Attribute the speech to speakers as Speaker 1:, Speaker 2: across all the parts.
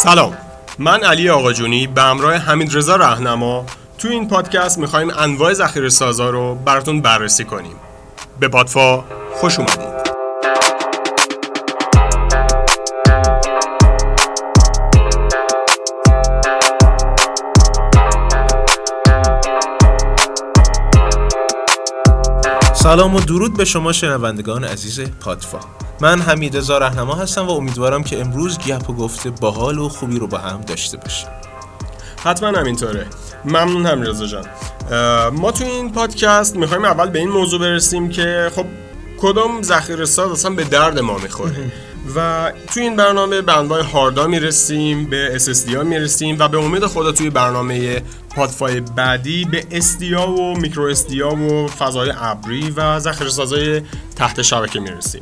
Speaker 1: سلام، من علی آقاجونی به همراه حمیدرضا رهنما تو این پادکست میخوایم انواع ذخیره‌سازا رو براتون بررسی کنیم. به پادفا خوش اومدید.
Speaker 2: سلام و درود به شما شنوندگان عزیز پادفا. من حمیدرضا رهنما هستم و امیدوارم که امروز گپ و گفته باحال و خوبی رو با هم داشته باشیم.
Speaker 1: حتما همینطوره. ممنون حمیدرضا جان. ما تو این پادکست میخوایم اول به این موضوع برسیم که خب کدوم ذخیره‌ساز اصلا به درد ما میخوره و تو این برنامه به انواع هاردها میرسیم، به SSD ها میرسیم و به امید خدا توی برنامه پادفای بعدی به SD ها و میکرو SD ها و فضای ابری و ذخیره‌سازهای تحت شبکه میرسیم.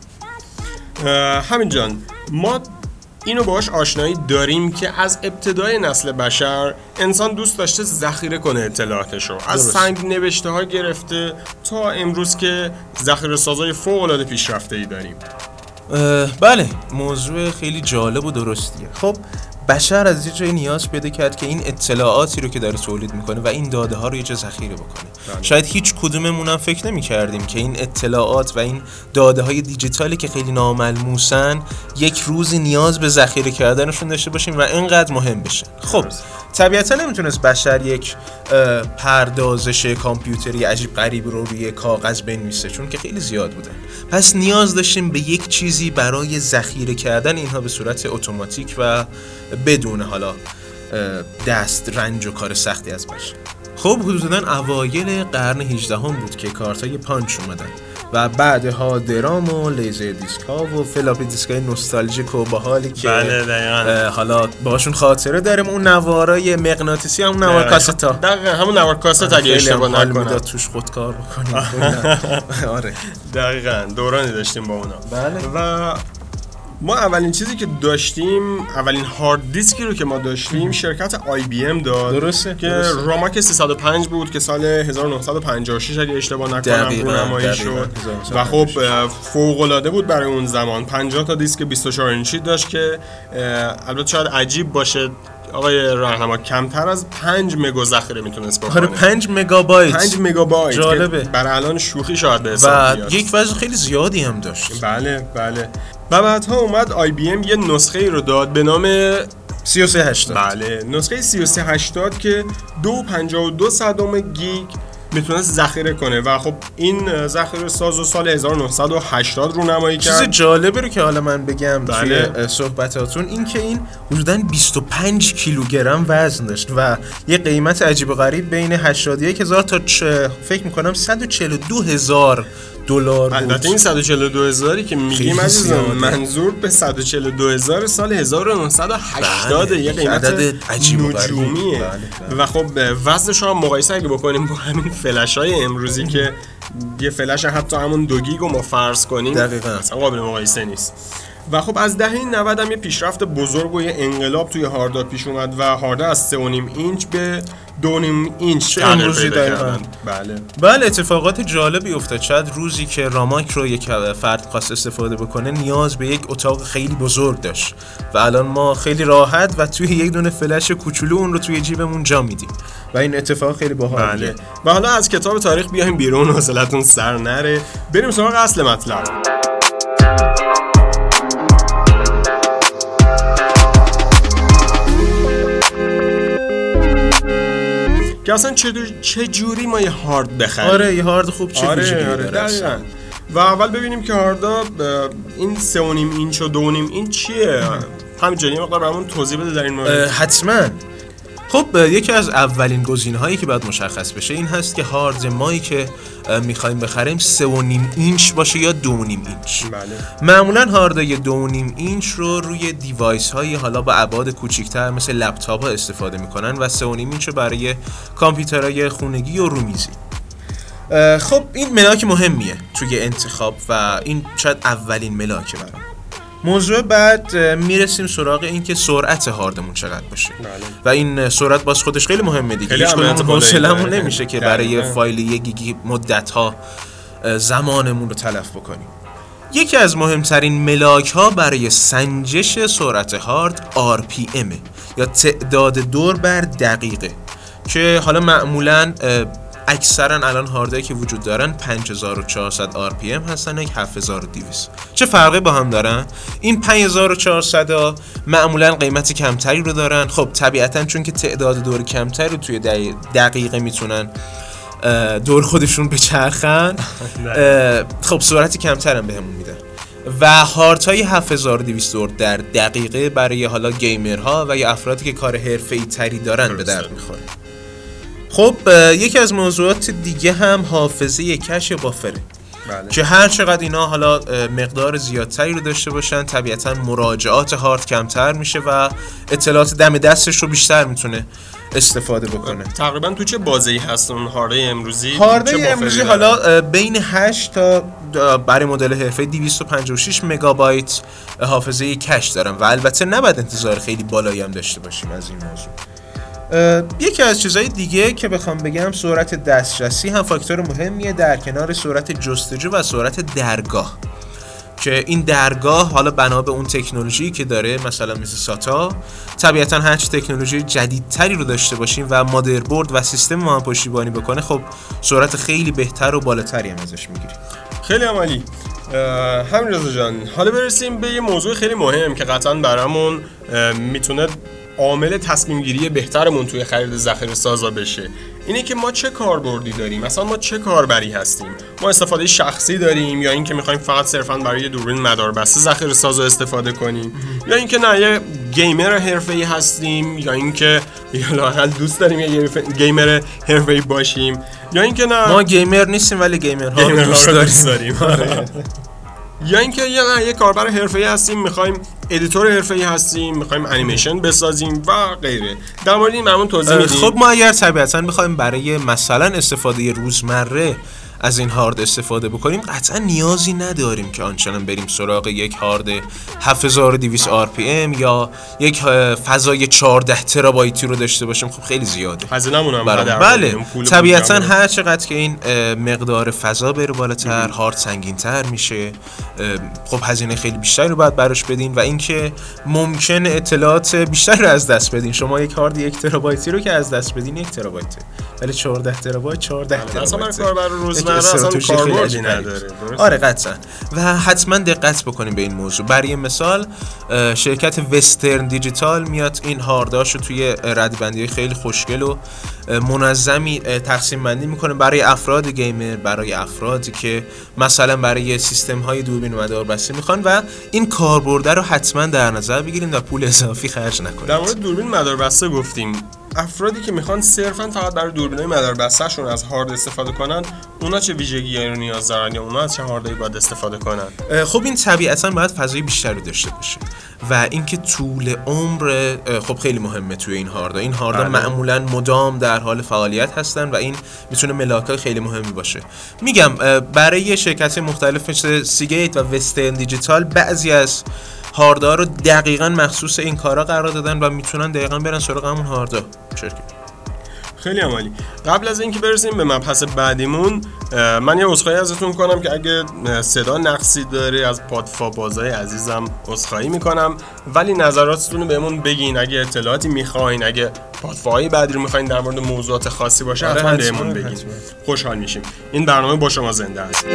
Speaker 1: همین جان، ما اینو باهاش آشنایی داریم که از ابتدای نسل بشر انسان دوست داشته ذخیره کنه اطلاعاتشو، از سنگ نوشته ها گرفته تا امروز که ذخیره‌سازهای فوق‌العاده پیشرفته‌ای داریم.
Speaker 2: بله، موضوع خیلی جالب و درستیه. خب بشر از یه جای نیاز پیدا کرد که این اطلاعاتی رو که داره تولید میکنه و این داده ها رو یه جا ذخیره بکنه. شاید هیچ کدوممون هم فکر نمی کردیم که این اطلاعات و این داده های دیجیتالی که خیلی ناملموسن یک روزی نیاز به ذخیره کردنشون داشته باشیم و اینقدر مهم بشه. خب طبیعتا نمیتونست بشر یک پردازش کامپیوتری عجیب غریب رو روی کاغذ بنویسه، چون که خیلی زیاد بودن. پس نیاز داشتیم به یک چیزی برای ذخیره کردن اینها به صورت اتوماتیک و بدون حالا دست رنج و کار سختی از بشه. خب حدوداً اوایل قرن 18 هم بود که کارتای پانچ اومدن و بعدها درام و لیزر دیسک ها و فلاپی دیسک های نوستالژیک و باحالی که حالا باهاشون خاطره داریم. اون نوارای مغناطیسی، همون نوار کاست ها،
Speaker 1: دقیقاً همون نوار کاست اگه اشتباه نکنم
Speaker 2: توش خودکار بکنیم. آره
Speaker 1: دقیقاً دورانی داشتیم با اونا.
Speaker 2: بله.
Speaker 1: و ما اولین چیزی که داشتیم، اولین هارد دیسکی رو که ما داشتیم شرکت IBM داد.
Speaker 2: درسته
Speaker 1: که راماک 305 بود که سال 1956 اگه اشتباه نکنم رونمایی شد و خب فوق‌العاده بود برای اون زمان. 50 تا دیسک 24 اینچی داشت که البته شاید عجیب باشه آقای راهنما کمتر از 5 مگا ذخیره میتونست بکنه.
Speaker 2: آره 5 مگابایت.
Speaker 1: 5 مگابایت
Speaker 2: جالبه.
Speaker 1: برای الان شوخی شاید به حساب بیاد.
Speaker 2: و یک وزن خیلی زیادی هم داشت.
Speaker 1: بله. و بعدها اومد IBM یه نسخه رو داد به نام
Speaker 2: 3380.
Speaker 1: بله، نسخه 3380 که 2.52 گیگ میتونست ذخیره کنه و خب این ذخیره ساز سال 1980 رونمایی کرد.
Speaker 2: چیز جالبی رو که حالا من بگم
Speaker 1: بله.
Speaker 2: توی صحبتاتون این که این حدوداً 25 کیلوگرم وزن داشت و یه قیمت عجیب و غریب بین 81,000 تا فکر میکنم 142,000 دلار بود.
Speaker 1: البته این 142,000 که میگیم عزیزم منظور به 142,000 سال 1980 یه قیمت نجومیه. بله. و خب وزنش رو مقایسه اگه بکنیم با همین فلش‌های امروزی که یه فلش حتی همون 2 گیگ رو ما فرض کنیم
Speaker 2: دقیقاً
Speaker 1: اصلا قابل مقایسه نیست. و خب از دهه 90 هم یه پیشرفت بزرگ و یه انقلاب توی هاردها پیش اومد و هاردها از 3.5 اینچ به 2.5 اینچ تغییر پیدا کردن.
Speaker 2: بله اتفاقات جالبی افتاد. شاید روزی که راماک رو یک فرد خاص استفاده بکنه نیاز به یک اتاق خیلی بزرگ داشت و الان ما خیلی راحت و توی یک دونه فلش کوچولو اون رو توی جیبمون جا میدیم و این اتفاق خیلی باحاله.
Speaker 1: بله. و حالا از کتاب تاریخ بیایم بیرون، حوصلتون سر نره، بریم سراغ اصل مطلب. که اصلا چه جوری ما یه هارد بخریم.
Speaker 2: آره یه هارد خوب چه ویژگی
Speaker 1: داره. و اول ببینیم که هاردها این 3.5 اینچ و 2.5 اینچ چیه. همینجوری مقدار برامون توضیح بده در این مورد.
Speaker 2: حتما. خب یکی از اولین گزینه‌هایی که باید مشخص بشه این هست که هارد مایی که می‌خوایم بخریم 3.5 اینچ باشه یا 2.5 اینچ.
Speaker 1: بله.
Speaker 2: معمولاً هاردای 2.5 اینچ رو روی دیوایس‌های حالا با ابعاد کوچیک‌تر مثل لپتاپ‌ها استفاده می‌کنن و 3.5 اینچ رو برای کامپیوترهای خونگی و رومیزی. خب این ملاک مهمیه توی انتخاب و این شاید اولین ملاکه برام. موضوع بعد میرسیم سراغ این که سرعت هاردمون چقدر باشه. و این سرعت باز خودش خیلی مهمه دیگه. هیچ کدوم حوصله‌مون نمیشه که برای فایل 1 گیگ مدت‌ها زمانمون رو تلف بکنیم. یکی از مهمترین ملاک ها برای سنجش سرعت هارد RPM یا تعداد دور بر دقیقه که حالا معمولاً اکثرا الان هاردایی که وجود دارن 5400 RPM هستن، یک 7200. چه فرقی با هم دارن؟ این 5400 ها معمولا قیمت کمتری رو دارن. خب طبیعتا چون که تعداد دور کمتری رو توی دقیقه میتونن دور خودشون بچرخن، خب سرعت کمتر هم بهمون میدن و هاردهای 7200 دور در دقیقه برای حالا گیمرها و یا افرادی که کار حرفه‌ای تری دارن به درد میخوره. خب یکی از موضوعات دیگه هم حافظه کش بافره.
Speaker 1: بله.
Speaker 2: که هر چقدر اینا حالا مقدار زیادتری رو داشته باشن طبیعتا مراجعات هارد کمتر میشه و اطلاعات دم دستش رو بیشتر میتونه استفاده بکنه.
Speaker 1: تقریبا تو چه بازه‌ای هست اون هارده امروزی؟
Speaker 2: حالا بین 8 تا برای مدل حرفه‌ای 256 مگابایت حافظه کش دارن و البته نباید انتظار خیلی بالایی هم داشته باشیم از این موضوع. یکی از چیزهای دیگه که بخوام بگم سرعت دسترسی هم فاکتور مهمیه در کنار سرعت جستجو و سرعت درگاه، که این درگاه حالا بنا به اون تکنولوژی که داره مثلا مثل ساتا، طبیعتا هر چی تکنولوژی جدیدتری رو داشته باشیم و مادربرد و سیستم ما هم پشتیبانی بکنه، خب سرعت خیلی بهتر و بالاتری هم ازش میگیریم.
Speaker 1: خیلی عالی. همین جان، حالا برسیم به یه موضوع خیلی مهم که قطعا برامون میتونه عامل تصمیم گیری بهترمون توی خرید ذخیره سازا بشه. اینه که ما چه کاربردی داریم، مثلا ما چه کاربری هستیم، ما استفاده شخصی داریم یا اینکه میخوایم فقط صرفاً برای دوربین مداربسته ذخیره سازا استفاده کنیم، یا اینکه نه یه گیمر حرفه‌ای هستیم، یا اینکه لااقل دوست داریم یه گیمر حرفه‌ای باشیم، یا اینکه نه
Speaker 2: ما گیمر نیستیم ولی گیمرها رو دوست داریم.
Speaker 1: یا اینکه یه کاربر حرفه‌ای هستیم، می‌خوایم ادیتور حرفه‌ای هستیم، می‌خوایم انیمیشن بسازیم و غیره. در مورد این معمول توضیح میدیم.
Speaker 2: خب ما اگر طبیعتاً بخوایم برای مثلا استفاده روزمره از این هارد استفاده بکنیم، قطعا نیازی نداریم که آنچنان بریم سراغ یک هارد 7200 RPM یا یک فضای 14 ترابایتی رو داشته باشیم. خب خیلی زیاده.
Speaker 1: هزینه‌مون هم
Speaker 2: بله طبیعتاً هر چقدر که این مقدار فضا بره بالاتر، هارد سنگین‌تر میشه. خب هزینه خیلی بیشتری رو باید براش بدین و اینکه ممکن اطلاعات بیشتری رو از دست بدین. شما یک هارد 1 ترابایتی رو که از دست بدین 1 ترابایته، ولی 14 ترابایت 14 ترابایت
Speaker 1: اصلا کاربر روزمره اصلا کاربردی نداره.
Speaker 2: آره قطعا. و حتما دقت بکنیم به این موضوع. برای مثال شرکت وسترن دیجیتال میاد این هارداشو توی ردبندی خیلی خوشگل و منظمی تقسیم بندی میکنه برای افراد گیمر، برای افرادی که مثلا برای سیستم های دوربین و مداربسته میخوان و این کاربرد رو حتما در نظر بگیرید و پول اضافی خرج نکنید.
Speaker 1: در مورد دوربین مداربسته گفتیم. افرادی که میخوان صرفاً فقط برای دوربینای مداربسته شون از هارد استفاده کنن، اونا چه ویژگی‌هایی رو نیاز دارن یا اونا از چه هاردایی باید استفاده کنن؟
Speaker 2: خب این طبیعتاً باید فضای بیشتری داشته باشه و اینکه طول عمر خب خیلی مهمه توی این هاردا. این هاردا معمولاً مدام در حال فعالیت هستن و این میتونه ملاکای خیلی مهمی باشه. میگم برای شرکت‌های مختلف مثل سیگیت و وسترن دیجیتال بعضی از هاردها رو دقیقاً مخصوص این کارا قرار دادن و میتونن دقیقاً برن سراغ همون هاردا.
Speaker 1: خیلی عالی. قبل از اینکه برسیم به مبحث بعدیمون، من یه عذرخواهی ازتون کنم که اگه صدا نقصی داره از پادفابازای عزیزم عذرخواهی میکنم، ولی نظراتتون رو بهمون بگین. اگه اطلاعاتی میخواین، اگه پادفای بعدی رو میخواین در مورد موضوعات خاصی باشه، حتما بهمون بگین. خوشحال میشیم. این برنامه با شما زنده است.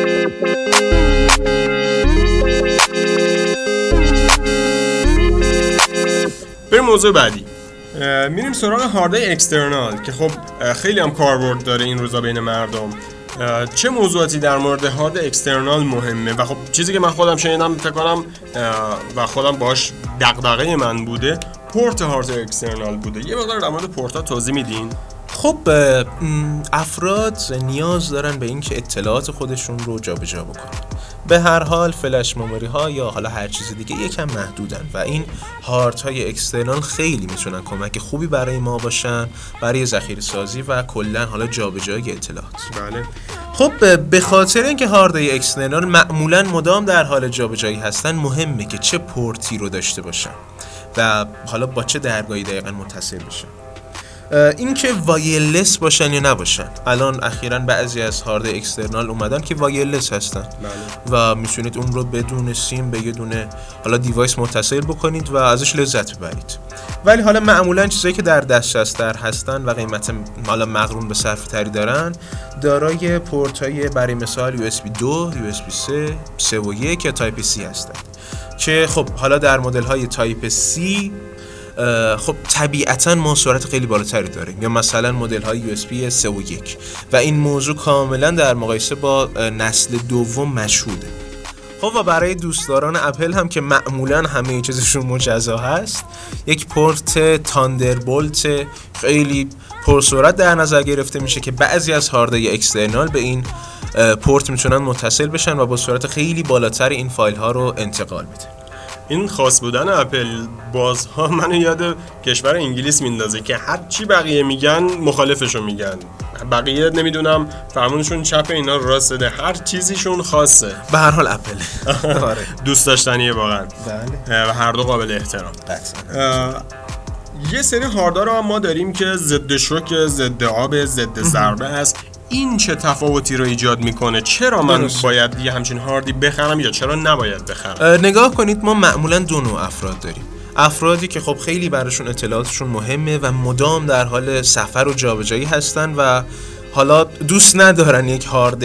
Speaker 1: بریم موضوع بعدی. میریم سراغ هاردهای اکسترنال که خب خیلی هم کاربرد داره این روزا بین مردم. چه موضوعاتی در مورد هارد اکسترنال مهمه و خب چیزی که من خودم شنیدم فکر کنم و خودم باش دغدغه من بوده، پورت هارد اکسترنال بوده. یه مقدار در مورد پورت‌ها توضیح میدین؟
Speaker 2: خب افراد نیاز دارن به اینکه اطلاعات خودشون رو جابجا بکنن. به هر حال فلش مموری ها یا حالا هر چیز دیگه یکم محدودن و این هاردهای اکسترنال خیلی میتونن کمک خوبی برای ما باشن برای ذخیره سازی و کلا حالا جابجایی اطلاعات.
Speaker 1: بله.
Speaker 2: خب به خاطر اینکه هاردهای اکسترنال معمولا مدام در حال جابجایی هستن، مهمه که چه پورتی رو داشته باشن و حالا با چه درگاهی دقیقاً متصل بشن. این که وایرلس باشن یا نباشن. الان اخیراً بعضی از هارد اکسترنال اومدن که وایرلس هستن و میتونید اون رو بدون سیم به یه دونه حالا دیوایس متصل بکنید و ازش لذت ببرید. ولی حالا معمولاً چیزایی که در دسترس هستن و قیمت حالا مقرون به صرفه تری دارن، دارای پورت‌های برای مثال USB 2، USB 3 و 1 یا تایپ C هستن که خب حالا در مدل‌های تایپ C خب طبیعتاً ما سرعت خیلی بالاتری داریم، یا مثلا مدل‌های USB 3 و 1 و این موضوع کاملا در مقایسه با نسل دوم مشهوده. خب و برای دوستداران اپل هم که معمولا همه چیزشون مجزا هست، یک پورت تاندربولت خیلی پرسرعت در نظر گرفته میشه که بعضی از هاردهای اکسترنال به این پورت میتونن متصل بشن و با سرعت خیلی بالاتر این فایل ها رو انتقال بدن.
Speaker 1: این خاص بودن اپل بازها منو یاد کشور انگلیس میندازه که هر چی بقیه میگن مخالفشو میگن. بقیه نمیدونم فرمونشون چپ اینا راست ده، هر چیزیشون خاصه.
Speaker 2: به هر حال اپل
Speaker 1: دوست داشتنیه واقعا.
Speaker 2: بله.
Speaker 1: و هر دو قابل احترام. یه سری هاردها رو ما داریم که ضد شوک، ضد آب، ضد ضربه هست. این چه تفاوتی رو ایجاد میکنه؟ چرا من باید یه همچین هاردی بخرم یا چرا نباید بخرم؟
Speaker 2: نگاه کنید، ما معمولا دو نوع افراد داریم. افرادی که خب خیلی براشون اطلاعاتشون مهمه و مدام در حال سفر و جابجایی هستن و حالا دوست ندارن یک هارد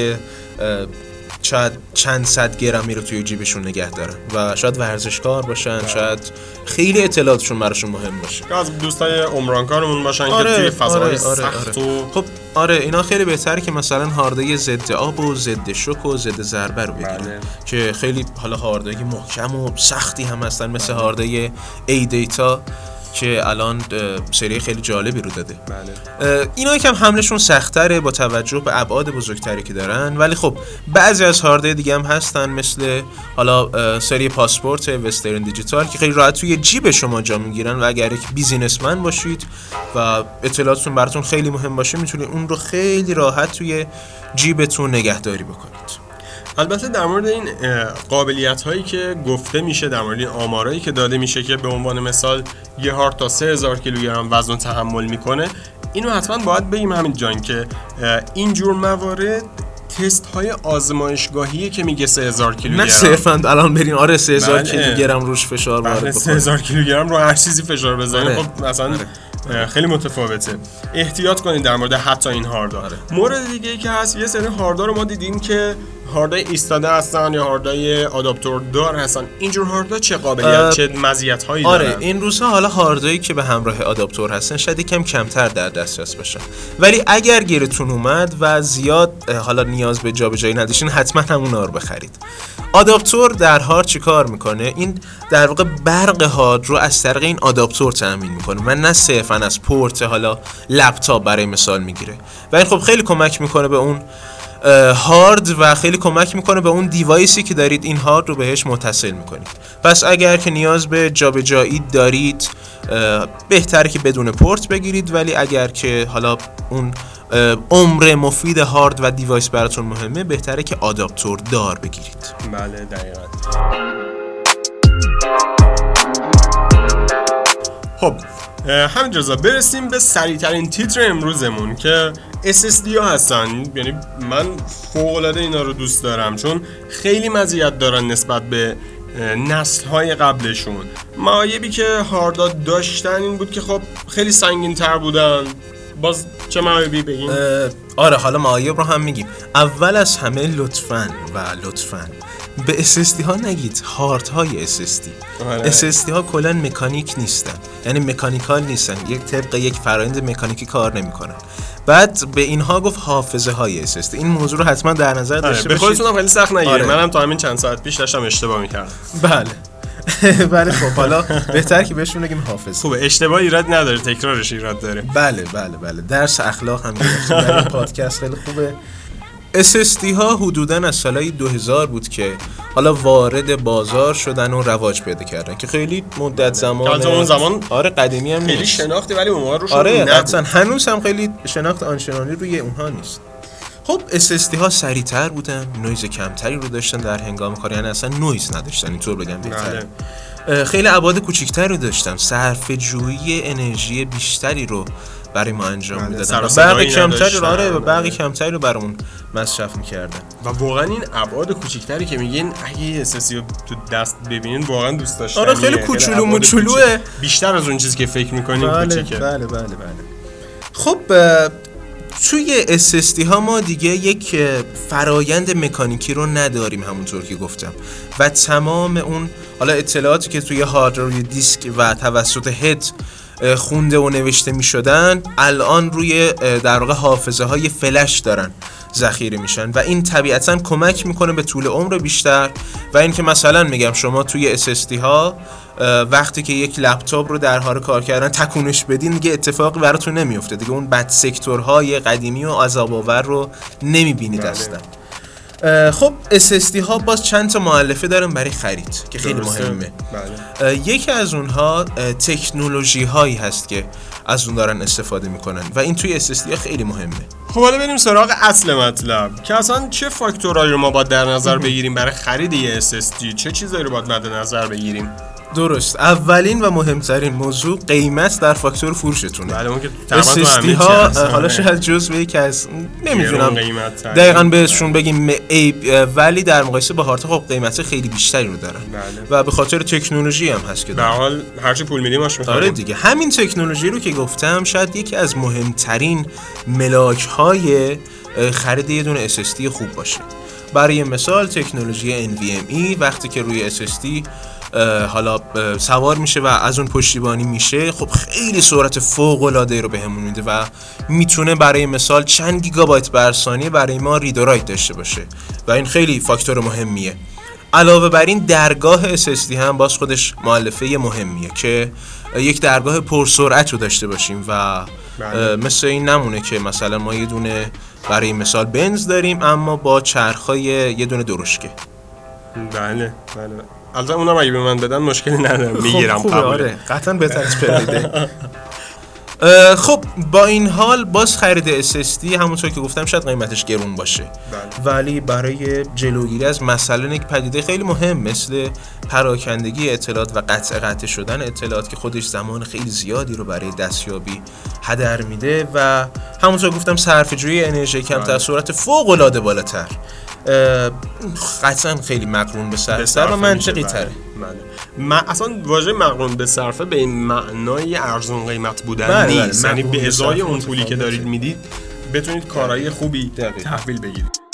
Speaker 2: شاید چند صد گرمی رو توی جیبشون نگه دارن و شاید ورزشکار باشن، شاید خیلی اطلاعاتشون براشون مهم باشه،
Speaker 1: یا از دوستای عمرانکارمون باشن که توی فضای سخت و
Speaker 2: خب اینا خیلی بهتره که مثلا هاردای ضد آب و ضد شوک و ضد ضربه رو بگیرن که خیلی حالا هاردای محکم و سختی هم هستن، مثل هاردای ای دیتا که الان سری خیلی جالبی رو داده. اینا یکم حملشون سخت‌تره با توجه به ابعاد بزرگتری که دارن، ولی خب بعضی از هاردهای دیگه هم هستن مثل حالا سری پاسپورت وسترن دیجیتال که خیلی راحت توی جیب شما جا میگیرن و اگر یک بیزینسمن باشید و اطلاعاتتون براتون خیلی مهم باشه میتونید اون رو خیلی راحت توی جیبتون نگهداری بکنید.
Speaker 1: البته در مورد این قابلیت هایی که گفته میشه، در مورد این آمارایی که داده میشه که به عنوان مثال یه هارد تا 3000 کیلوگرم وزن تحمل میکنه، اینو حتما باید بگیم همین جان که اینجور موارد تست های آزمایشگاهیه که میگه 3000 کیلوگرم، نه
Speaker 2: صرفاً الان برین 3000 کیلوگرم روش فشار وارد بکنید،
Speaker 1: 3000 کیلوگرم رو هر چیزی فشار بزنید خب مثلا خیلی متفاوته. احتیاط کنید در مورد حتی این هاردها. مورد دیگه ای که هست، یه سری هاردها رو ما دیدیم که هاردای ایستاده هستن یا هاردای آداپتور دار هستن. اینجور هاردها چه قابلیت چه مزیت‌هایی دارن؟
Speaker 2: این روزها حالا هاردایی که به همراه آداپتور هستن شاید یکم کمتر در دسترس باشن، ولی اگر گیرتون اومد و زیاد حالا نیاز به جابجایی نداشتین حتما همونا رو بخرید. آداپتور در هارد چیکار میکنه؟ این در واقع برق هارد رو از طریق این آداپتور تامین میکنه و نه صرفا از پورت حالا لپتاپ برای مثال میگیره و این خب خیلی کمک میکنه به اون هارد و خیلی کمک میکنه به اون دیوایسی که دارید این هارد رو بهش متصل میکنید. پس اگر که نیاز به جابجایی دارید بهتره که بدون پورت بگیرید، ولی اگر که حالا اون عمر مفید هارد و دیوایس براتون مهمه بهتره که آداپتور دار بگیرید.
Speaker 1: بله دقیقاً. خب همینجا برسیم به سریع‌ترین تیتر امروزمون که SSD ها هستن. یعنی من فوق‌العاده اینا رو دوست دارم چون خیلی مزیت دارن نسبت به نسل‌های قبلشون. معایبی که هاردها داشتن این بود که خب خیلی سنگین‌تر بودن. باز چه معایبی بگیم؟
Speaker 2: آره حالا معایب رو هم میگیم. اول از همه لطفاً به SSD ها نگید هارد های SSD. SSD ها کلاً مکانیک نیستن، یعنی مکانیکال نیستن، یک طبق یک فرآیند مکانیکی کار نمیکنن. بعد به اینها گفت حافظه های SSD. این موضوع رو حتما در نظر داشته باشید.
Speaker 1: به خودتون هم خیلی سخت نگیرید. منم تا همین چند ساعت پیش داشتم اشتباه میکردم.
Speaker 2: بله خب حالا بهتر که بهشون بگیم حافظ.
Speaker 1: خوبه، اشتباه ایراد نداره، تکرارش ایراد داره.
Speaker 2: بله درس اخلاق هم گرفتیم در این پادکست، خیلی خوبه. SSD ها حدوداً از سالهای 2000 بود که حالا وارد بازار شدن و رواج پیدا کردن که خیلی مدت زمان آره قدیمی هم
Speaker 1: خیلی
Speaker 2: نیست.
Speaker 1: شناختی ولی اونها روشون
Speaker 2: آره اصلا هنوز هم خیلی شناخت آنچنانی روی اونها نیست. خب SSD ها سریع‌تر بودن، نویز کمتری رو داشتن در هنگام کار، یعنی اصلا نویز نداشتن اینطور بگم بهتره. خیلی ابعاد کوچیک‌تری داشتن، صرفه‌جویی انرژی بیشتری رو برای ما انجام میدادن، برق کمتری رو برق کمتری رو برامون مصرف میکردن.
Speaker 1: و واقعا این ابعاد کوچیک‌تری که میگین اگه اساسی رو تو دست ببینین واقعا دوست داشتنیه.
Speaker 2: آره خیلی کوچولو موچولوه،
Speaker 1: بیشتر از اون چیزی که فکر میکنین کوچیکه.
Speaker 2: بله. خب توی SSD ها ما دیگه یک فرایند مکانیکی رو نداریم همونطور که گفتم و تمام اون حالا اطلاعاتی که توی هارد روی دیسک و توسط هد خونده و نوشته می شدن الان روی در واقع حافظه های فلش دارن ذخیره میشن و این طبیعتاً کمک میکنه به طول عمر بیشتر و این که مثلا میگم شما توی SSD ها وقتی که یک لپتاپ رو در حال کار کردن تکونش بدین دیگه اتفاقی براتون نمیفته دیگه، اون بد سکتورهای قدیمی و عذاب‌آور رو نمیبینید اصلا. خب SSD ها باز چند تا مؤلفه دارن برای خرید که خیلی مهمه. یکی از اونها تکنولوژی هایی هست که از اون دارن استفاده میکنن و این توی SSD ها خیلی مهمه.
Speaker 1: خب حالا بریم سراغ اصل مطلب که اصلا چه فاکتورایی رو ما باید در نظر بگیریم برای خرید یه SSD، چه چیزایی رو باید مد نظر بگیریم؟
Speaker 2: درست، اولین و مهمترین موضوع قیمت در فاکتور فروشتونه.
Speaker 1: بله اون که
Speaker 2: SSD ها حالا شاید جزء یکی از نمیدونم دقیقاً بهشون بگیم عیب، ولی در مقایسه با هارد خب قیمت خیلی بیشتری رو دارن. و به خاطر تکنولوژی هم هست که
Speaker 1: در حال هرچی پول میدیم ماش می‌خریم.
Speaker 2: آره دیگه، همین تکنولوژی رو که گفتم شاید یکی از مهمترین ملاک های خرید یه دونه SSD خوب باشه. برای مثال تکنولوژی NVMe وقتی که روی SSD حالا سوار میشه و از اون پشتیبانی میشه خب خیلی سرعت فوق العاده رو بهمون میده و میتونه برای مثال چند گیگابایت بر ثانیه برای ما رید و رایت داشته باشه و این خیلی فاکتور مهمیه. علاوه بر این درگاه SSD هم باز خودش مؤلفه مهمیه که یک درگاه پرسرعت رو داشته باشیم و مثل این نمونه که مثلا ما یه دونه برای مثال بنز داریم اما با چرخای یه دونه درشکه.
Speaker 1: بله البته اونم اگه به من بدن مشکلی ندارم، میگیرم قبول.
Speaker 2: آره قطعا بهتر از پریده. خب با این حال باز خرید SSD همونطور که گفتم شاید قیمتش گرون باشه ولی برای جلوگیری از مثلا یک پدیده خیلی مهم مثل پراکندگی اطلاعات و قطع شدن اطلاعات که خودش زمان خیلی زیادی رو برای دستیابی هدر میده و همونطور گفتم صرفه‌جویی انرژی کمتر، سرعت فوق العاده بالاتر، قطعا خیلی مقرون به صرفه و منطقی تره.
Speaker 1: اصلا واژه مقرون به صرفه به این معنای ارزون قیمت بودن نیست، یعنی به ازای اون پولی که دارید میدید بتونید کارهای خوبی تحویل بگیرید.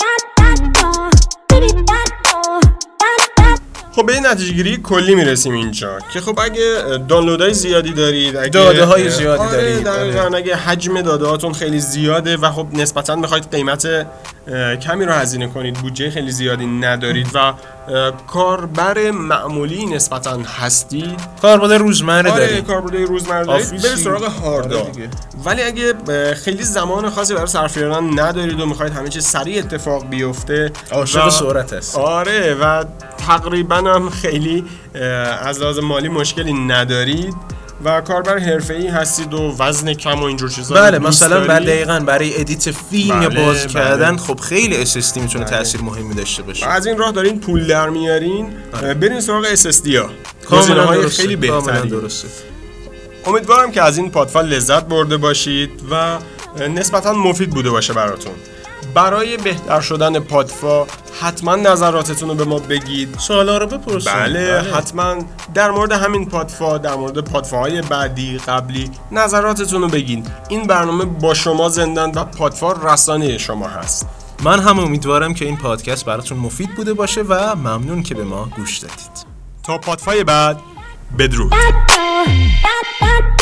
Speaker 1: خب به این نتیجه گیری کلی میرسیم اینجا که خب اگه دانلودهای زیادی دارید، اگه
Speaker 2: داده های زیادی دارید،
Speaker 1: اگه حجم داده هاتون خیلی زیاده و خب نسبتاً میخواید قیمت کمی رو هزینه کنید، بودجه خیلی زیادی ندارید و کاربر معمولی نسبتاً هستید،
Speaker 2: کاربر روزمره دارید،
Speaker 1: کاربر روزمره دارید، برید سراغ هاردا. ولی اگه خیلی زمان خاصی برای صرف کردن ندارید و میخواید همه چیز سریع اتفاق بیفته،
Speaker 2: عاشق سرعت هست.
Speaker 1: آره و تقریباً هم خیلی از لحاظ مالی مشکلی ندارید و کاربر حرفه‌ای هستید و وزن کم و اینجور چیزا.
Speaker 2: بله مثلا دقیقاً برای ادیت فیلم یا باز کردن خب خیلی SSD میتونه تاثیر مهمی داشته باشه.
Speaker 1: از این راه دارین پول در میارین، برین سراغ SSD ها، گزینه‌های خیلی بهتری.
Speaker 2: درسته.
Speaker 1: امیدوارم که از این پادفال لذت برده باشید و نسبتاً مفید بوده باشه براتون. برای بهتر شدن پادفا حتما نظراتتون رو به ما بگید،
Speaker 2: سوالا رو بپرسید.
Speaker 1: بله حتما در مورد همین پادفا، در مورد پادفاهای بعدی قبلی نظراتتون رو بگید. این برنامه با شما زندن و پادفا رسانه شما هست.
Speaker 2: من هم امیدوارم که این پادکست براتون مفید بوده باشه و ممنون که به ما گوش دادید.
Speaker 1: تا پادفای بعد، بدرود.